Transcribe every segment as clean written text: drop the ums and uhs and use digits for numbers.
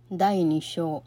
第2章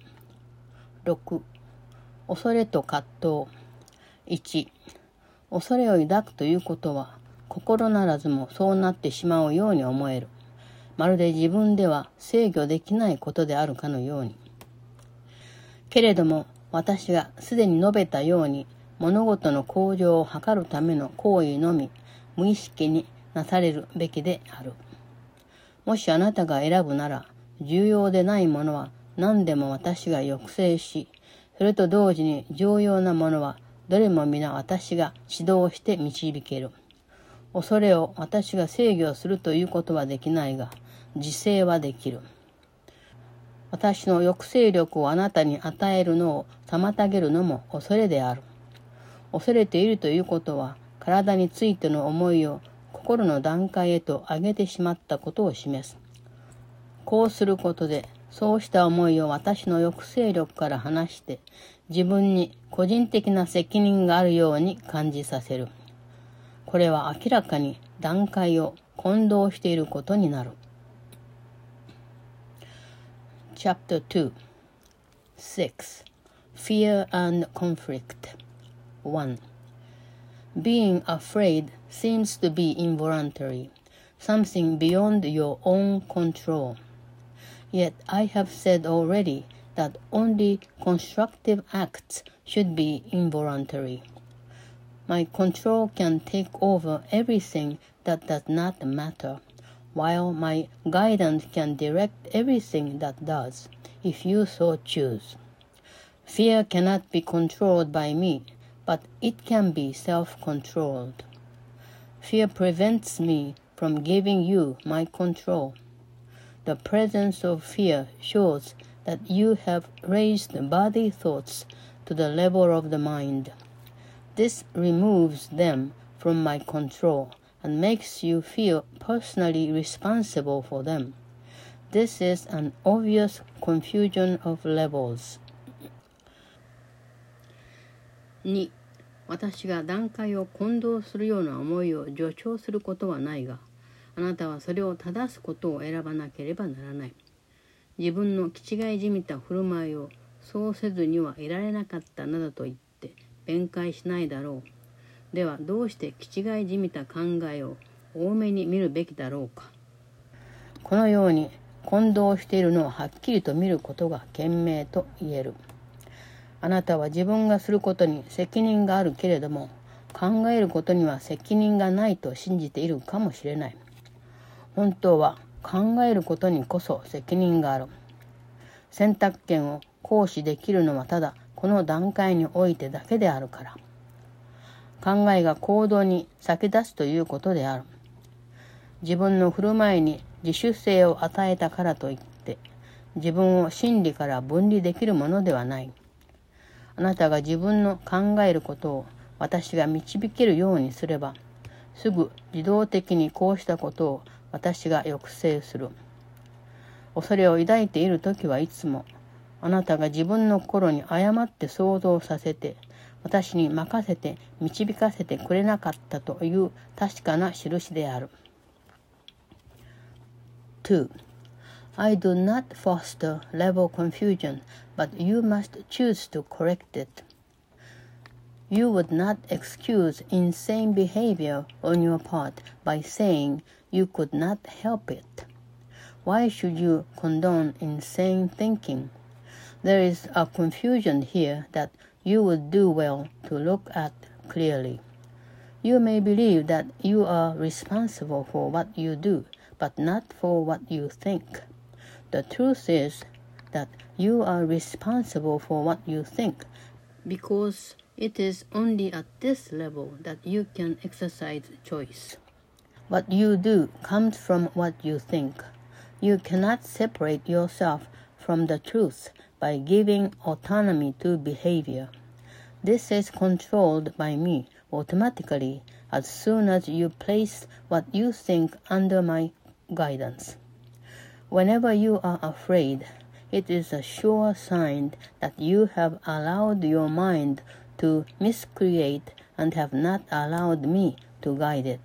6恐れと葛藤1恐れを抱くということは心ならずもそうなってしまうように思える。まるで自分では制御できないことであるかのように。けれども私がすでに述べたように物事の向上を図るための行為のみ無意識になされるべきである。もしあなたが選ぶなら重要でないものは何でも私が抑制し、それと同時に重要なものはどれも皆私が指導して導ける。恐れを私が制御するということはできないが、自制はできる。私の抑制力をあなたに与えるのを妨げるのも恐れである。恐れているということは、体についての思いを心の段階へと上げてしまったことを示す。こうすることで、そうした思いを私の抑制力から離して、自分に個人的な責任があるように感じさせる。これは明らかに段階を混同していることになる。Chapter 2 6 Fear and Conflict 1 Being afraid seems to be involuntary, something beyond your own control. Yet I have said already that only constructive acts should be involuntary. My control can take over everything that does not matter, while my guidance can direct everything that does, if you so choose. Fear cannot be controlled by me, but it can be self-controlled. Fear prevents me from giving you my control. The presence of fear shows that you have raised body thoughts to the level of the mind. This removes them from my control and makes you feel personally responsible for them. This is an obvious confusion of levels. 2. 私が段階を混同するような思いを助長することはないが、あなたはそれを正すことを選ばなければならない。自分の気違いじみた振る舞いをそうせずにはいられなかったなどと言って弁解しないだろう。ではどうして気違いじみた考えを多めに見るべきだろうか。このように混同しているのをはっきりと見ることが賢明と言える。あなたは自分がすることに責任があるけれども、考えることには責任がないと信じているかもしれない。本当は考えることにこそ責任がある。選択権を行使できるのはただこの段階においてだけであるから。考えが行動に先立つということである。自分の振る舞いに自主性を与えたからといって、自分を真理から分離できるものではない。あなたが自分の考えることを私が導けるようにすれば、すぐ自動的にこうしたことを私が抑制する。恐れを抱いているときはいつも、あなたが自分の心に誤って想像させて、私に任せて導かせてくれなかったという確かな印である。2. I do not foster level confusion, but you must choose to correct it. You would not excuse insane behavior on your part by saying you could not help it. Why should you condone insane thinking? There is a confusion here that you would do well to look at clearly. You may believe that you are responsible for what you do, but not for what you think. The truth is that you are responsible for what you think, because it is only at this level that you can exercise choice. What you do comes from what you think. You cannot separate yourself from the truth by giving autonomy to behavior. This is controlled by me automatically as soon as you place what you think under my guidance. Whenever you are afraid, it is a sure sign that you have allowed your mind to miscreate and have not allowed me to guide it.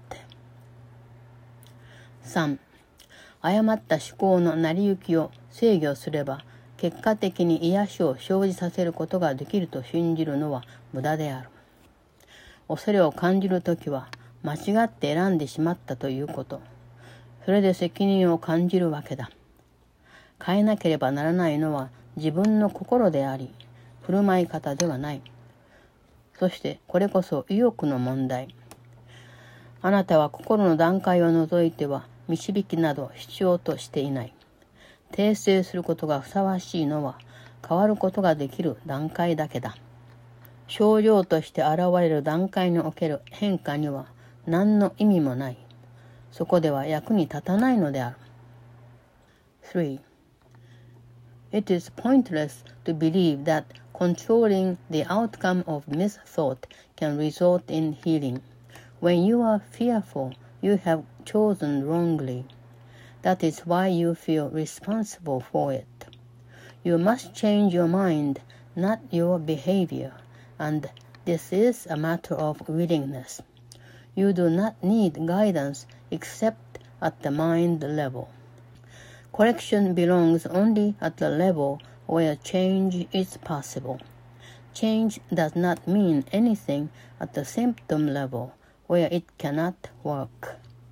3. 誤った思考の成り行きを制御すれば結果的に癒しを生じさせることができると信じるのは無駄である。恐れを感じるときは間違って選んでしまったということ。それで責任を感じるわけだ。変えなければならないのは自分の心であり、振る舞い方ではない。そしてこれこそ意欲の問題。あなたは心の段階を除いては導きなど必要としていない。訂正することがふさわしいのは変わることができる段階だけだ。症状として現れる段階における変化には何の意味もない。そこでは役に立たないのである。3. It is pointless to believe that controlling the outcome of misthought can result in healing. When you are fearful, you have chosen wrongly. That is why you feel responsible for it. You must change your mind, not your behavior, and this is a matter of willingness. You do not need guidance except at the mind level. Correction belongs only at the level where change is possible. Change does not mean anything at the symptom level where it cannot work.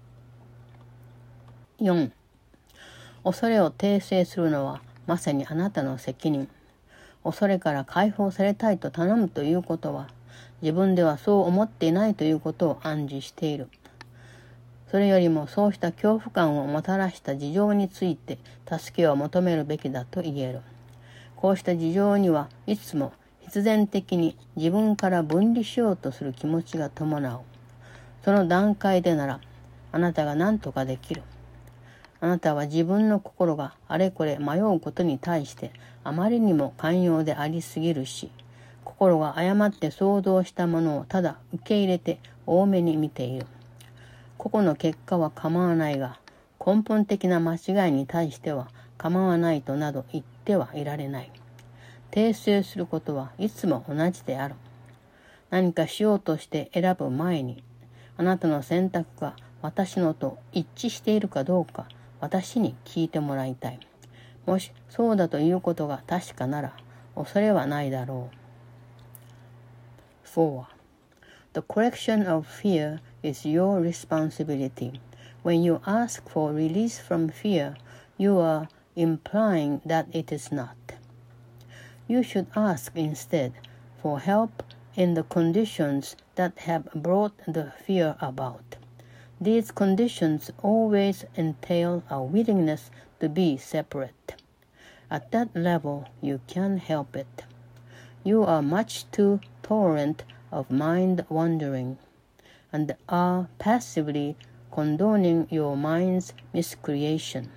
4. 恐れを訂正するのはまさにあなたの責任。恐れから解放されたいと頼むということは、自分ではそう思っていないということを暗示している。それよりもそうした恐怖感をもたらした事情について助けを求めるべきだと言える。こうした事情にはいつも必然的に自分から分離しようとする気持ちが伴う。その段階でならあなたが何とかできる。あなたは自分の心があれこれ迷うことに対してあまりにも寛容でありすぎるし、心が誤って想像したものをただ受け入れて多めに見ている。個々の結果は構わないが、根本的な間違いに対しては構わないとなど言ってはいられない。訂正することはいつも同じである。何かしようとして選ぶ前に、あなたの選択が私のと一致しているかどうか私に聞いてもらいたい。もしそうだということが確かなら、恐れはないだろう。4. The correction of fear is your responsibility. When you ask for release from fear, you are implying that it is not. You should ask instead for help in the conditions that have brought the fear about. These conditions always entail a willingness to be separate. At that level, you can help it. You are much too tolerant of mind wandering, and are passively condoning your mind's miscreation.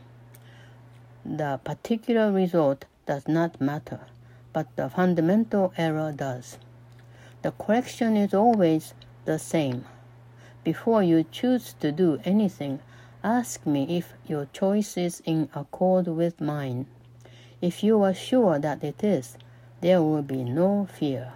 The particular result does not matter, but the fundamental error does. The correction is always the same. Before you choose to do anything, ask me if your choice is in accord with mine. If you are sure that it is, there will be no fear.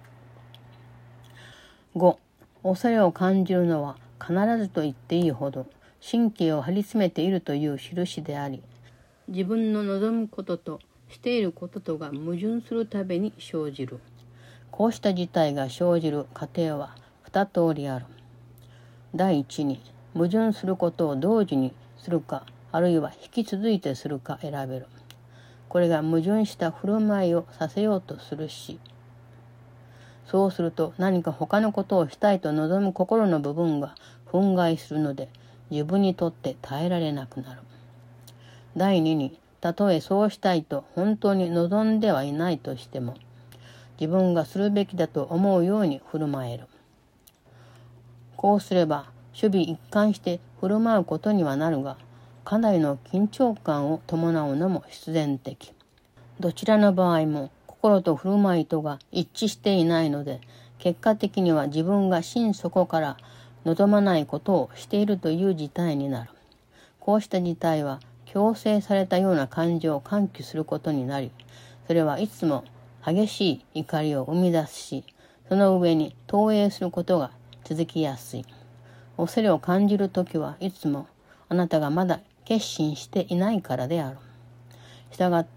5. 恐れを感じるのは必ずと言っていいほど神経を張り詰めているという印であり、自分の望むこととしていることとが矛盾するたびに生じる。こうした事態が生じる過程は2通りある。第一に、矛盾することを同時にするか、あるいは引き続いてするか選べる。これが矛盾した振る舞いをさせようとするし、そうすると何か他のことをしたいと望む心の部分が憤慨するので、自分にとって耐えられなくなる。第二に、たとえそうしたいと本当に望んではいないとしても、自分がするべきだと思うように振る舞える。こうすれば守備一貫して振る舞うことにはなるが、かなりの緊張感を伴うのも必然的。どちらの場合も心と振る舞いとが一致していないので、結果的には自分が心底から望まないことをしているという事態になる。こうした事態は強制されたような感情を喚起することになり、それはいつも激しい怒りを生み出すし、その上に投影することが続きやすい。恐れを感じるときはいつもあなたがまだ決心していないからである。したがって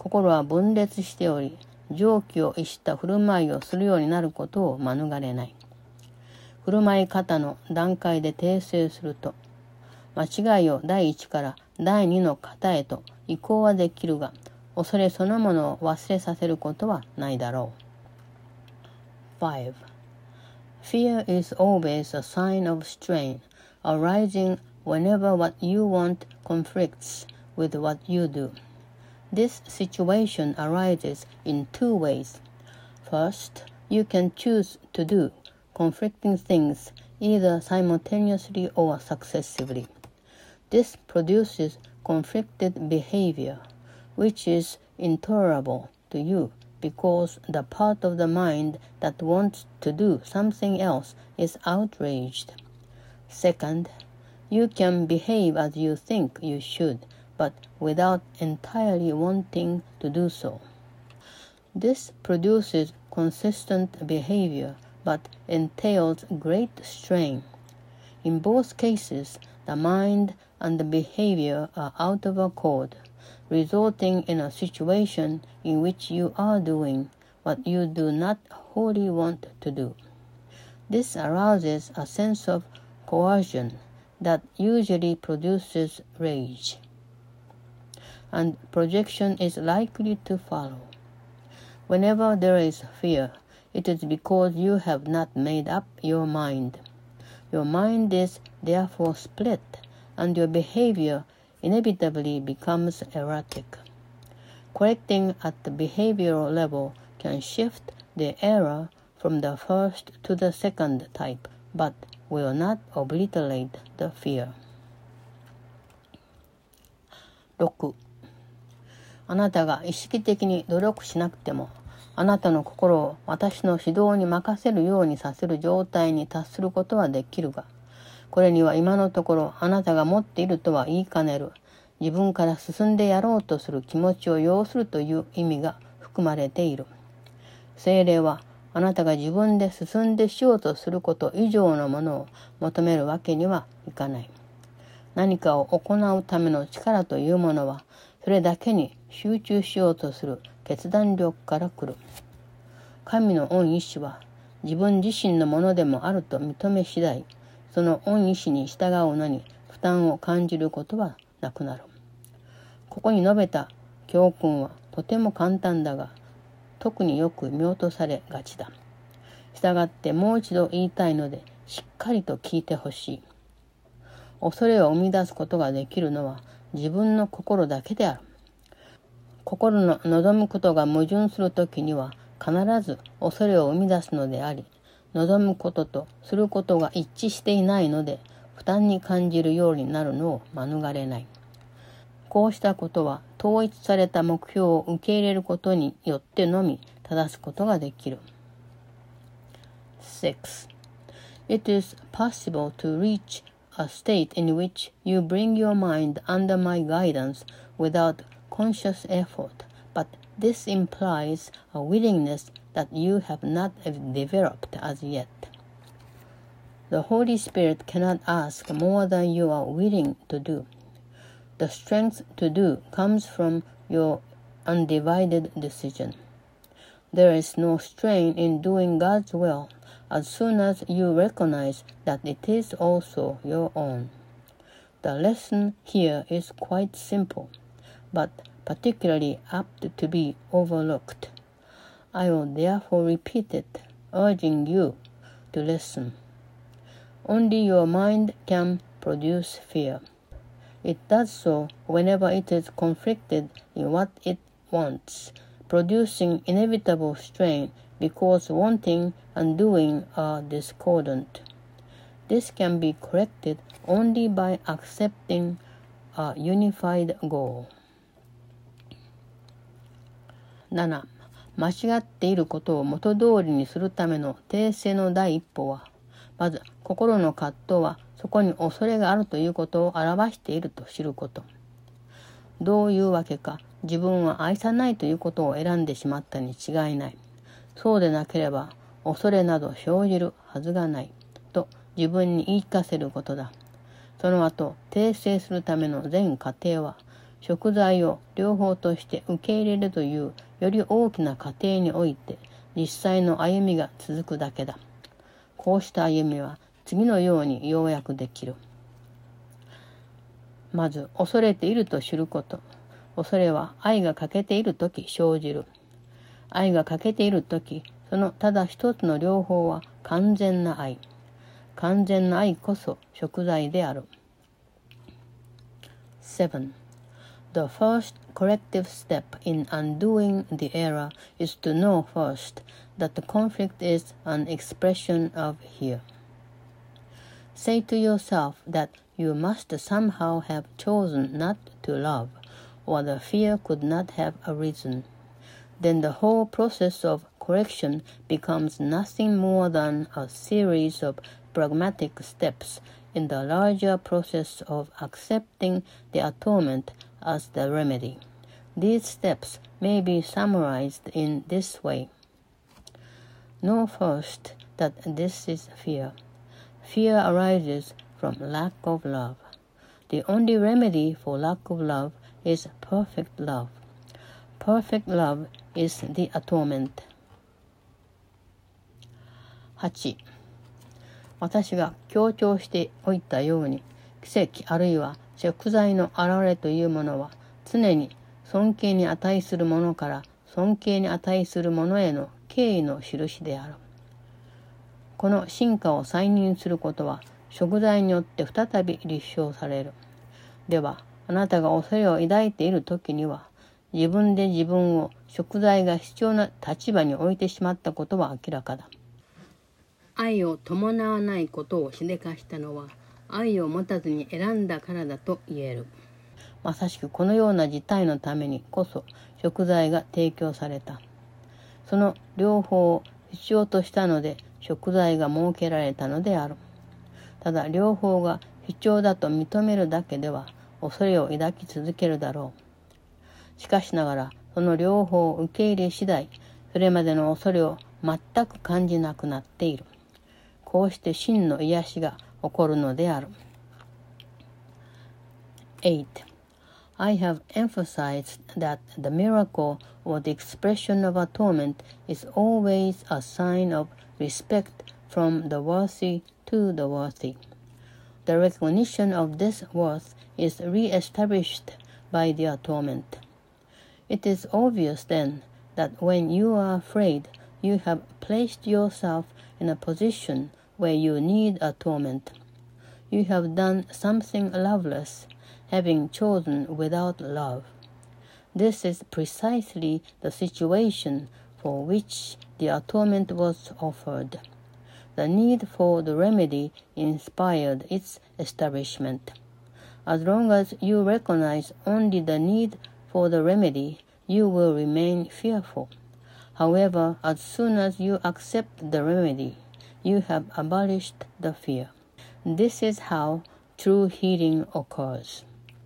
心は分裂しており、常軌を逸した振る舞いをするようになることを免れない。振る舞い方の段階で訂正すると、間違いを第一から第二の型へと移行はできるが、恐れそのものを忘れさせることはないだろう。5. Fear is always a sign of strain, arising whenever what you want conflicts with what you do. This situation arises in two ways. First, you can choose to do conflicting things either simultaneously or successively. This produces conflicted behavior, which is intolerable to you because the part of the mind that wants to do something else is outraged. Second, you can behave as you think you should, but without entirely wanting to do so. This produces consistent behavior, but entails great strain. In both cases, the mind and the behavior are out of accord, resulting in a situation in which you are doing what you do not wholly want to do. This arouses a sense of coercion that usually produces rage, and projection is likely to follow. Whenever there is fear, it is because you have not made up your mind. Your mind is therefore split, and your behavior inevitably becomes erratic. Correcting at the behavioral level can shift the error from the first to the second type, but will not obliterate the fear. 6. あなたが意識的に努力しなくても、あなたの心を私の指導に任せるようにさせる状態に達することはできるが、これには今のところあなたが持っているとは言いかねる、自分から進んでやろうとする気持ちを要するという意味が含まれている。聖霊はあなたが自分で進んでしようとすること以上のものを求めるわけにはいかない。何かを行うための力というものは、それだけに集中しようとする決断力から来る。神の御意志は自分自身のものでもあると認め次第、その御意志に従うのに負担を感じることはなくなる。ここに述べた教訓はとても簡単だが、特によく見落とされがちだ。したがってもう一度言いたいので、しっかりと聞いてほしい。恐れを生み出すことができるのは自分の心だけである。心の望むことが矛盾するときには必ず恐れを生み出すのであり、望むこととすることが一致していないので負担に感じるようになるのを免れない。こうしたことは統一された目標を受け入れることによってのみ正すことができる。6. It is possible to reach a state in which you bring your mind under my guidance without conscious effort, but this implies a willingness that you have not developed as yet. The Holy Spirit cannot ask more than you are willing to do. The strength to do comes from your undivided decision. There is no strain in doing God's will as soon as you recognize that it is also your own. The lesson here is quite simple, but particularly apt to be overlooked. I will therefore repeat it, urging you to listen. Only your mind can produce fear. It does so whenever it is conflicted in what it wants, producing inevitable strain because wanting and doing are discordant. This can be corrected only by accepting a unified goal. 7. 間違っていることを元通りにするための訂正の第一歩は、まず心の葛藤はそこに恐れがあるということを表していると知ること。どういうわけか自分は愛さないということを選んでしまったに違いない。そうでなければ恐れなど生じるはずがないと自分に言い聞かせることだ。その後訂正するための全過程は贖罪を両方として受け入れるというより大きな過程において実際の歩みが続くだけだ。こうした歩みは次のように要約できる。まず、恐れていると知ること。恐れは愛が欠けているとき生じる。愛が欠けているとき、そのただ一つの両方は完全な愛。完全な愛こそ贖罪である。7. The first corrective step in undoing the error is to know first that the conflict is an expression of fear. Say to yourself that you must somehow have chosen not to love, or the fear could not have arisen. Then the whole process of correction becomes nothing more than a series of pragmatic steps in the larger process of accepting the atonement as the remedy. These steps may be summarized in this way. Know first that this is fear. Fear arises from lack of love. The only remedy for lack of love is perfect love. Perfect love is the atonement. 8. 私が強調しておいたように、奇跡あるいは贖罪の現れというものは常に尊敬に値するものから尊敬に値するものへの敬意の印である。この進化を再認することは贖罪によって再び立証される。では、あなたが恐れを抱いているときには、自分で自分を贖罪が必要な立場に置いてしまったことは明らかだ。愛を伴わないことをしでかしたのは、愛を持たずに選んだからだと言える。まさしくこのような事態のためにこそ贖罪が提供された。その両方を必要としたので贖罪が設けられたのである。ただ両方が必要だと認めるだけでは恐れを抱き続けるだろう。しかしながらその両方を受け入れ次第、それまでの恐れを全く感じなくなっている。こうして真の癒しが起こるのである。8. I have emphasized that the miracle or the expression of atonement is always a sign of respect from the worthy to the worthy. The recognition of this worth is re-established by the atonement. It is obvious then that when you are afraid, you have placed yourself in a position where you need atonement. You have done something loveless, having chosen without love. This is precisely the situation for which the atonement was offered. The need for the remedy inspired its establishment. As long as you recognize only the need for the remedy, you will remain fearful. However, as soon as you accept the remedy, you have abolished the fear. This is how true healing occurs.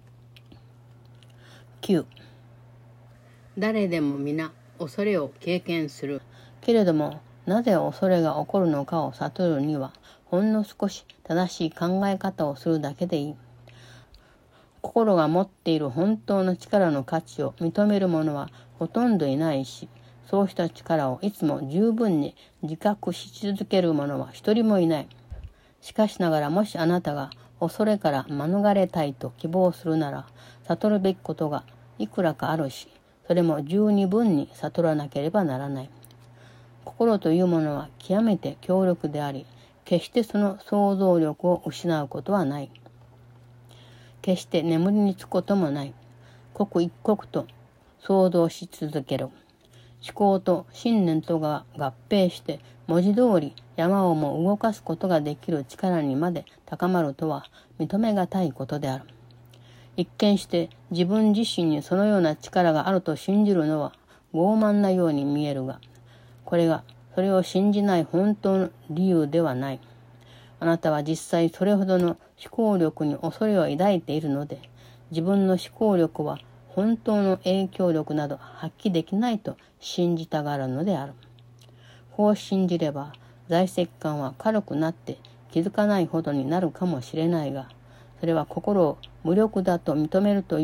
9. 誰でも皆恐れを経験する。けれども、なぜ恐れが起こるのかを悟るには、ほんの少し正しい考え方をするだけでいい。心が持っている本当の力の価値を認める者はほとんどいないし、そうした力をいつも十分に自覚し続ける者は一人もいない。しかしながらもしあなたが恐れから免れたいと希望するなら、悟るべきことがいくらかあるし、それも十二分に悟らなければならない。心というものは極めて強力であり、決してその想像力を失うことはない。決して眠りにつくこともない。刻一刻と想像し続ける。思考と信念とが合併して文字通り山をも動かすことができる力にまで高まるとは認めがたいことである。一見して自分自身にそのような力があると信じるのは傲慢なように見えるが、これがそれを信じない本当の理由ではない。あなたは実際それほどの思考力に恐れを抱いているので、自分の思考力は本当の影響力など発揮できないと信じたがるのである。こう信じれば財石感は軽くなって気づかないほどになるかもしれないが、それは心を無力だと認めるという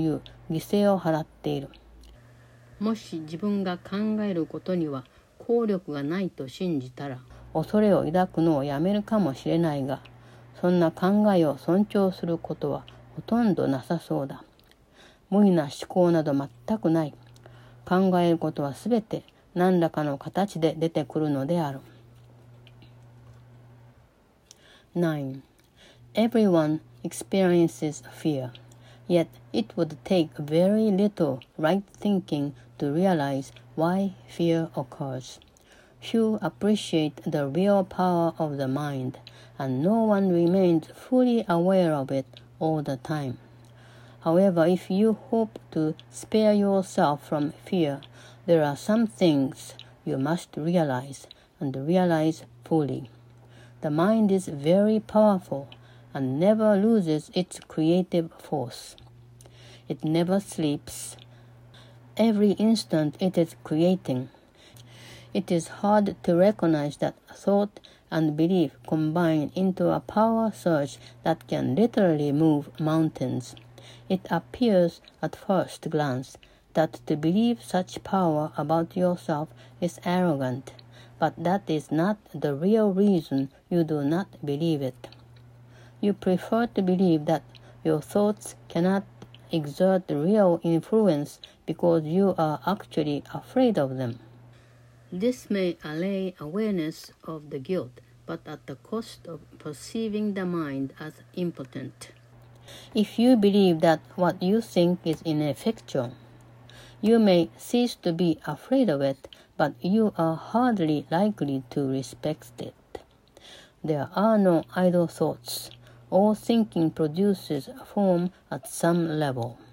犠牲を払っている。もし自分が考えることには効力がないと信じたら、恐れを抱くのをやめるかもしれないが、そんな考えを尊重することはほとんどなさそうだ。無理な思考など全くない。考えることはすべて何らかの形で出てくるのである。9. Everyone experiences fear, yet it would take very little right thinking to realize why fear occurs. Few appreciate the real power of the mind, and no one remains fully aware of it all the time. However, if you hope to spare yourself from fear, there are some things you must realize, and realize fully. The mind is very powerful and never loses its creative force. It never sleeps. Every instant it is creating. It is hard to recognize that thought and belief combine into a power surge that can literally move mountains. It appears at first glance that to believe such power about yourself is arrogant, but that is not the real reason you do not believe it. You prefer to believe that your thoughts cannot exert real influence because you are actually afraid of them. This may allay awareness of the guilt, but at the cost of perceiving the mind as impotent. If you believe that what you think is ineffectual, you may cease to be afraid of it, but you are hardly likely to respect it. There are no idle thoughts. All thinking produces form at some level.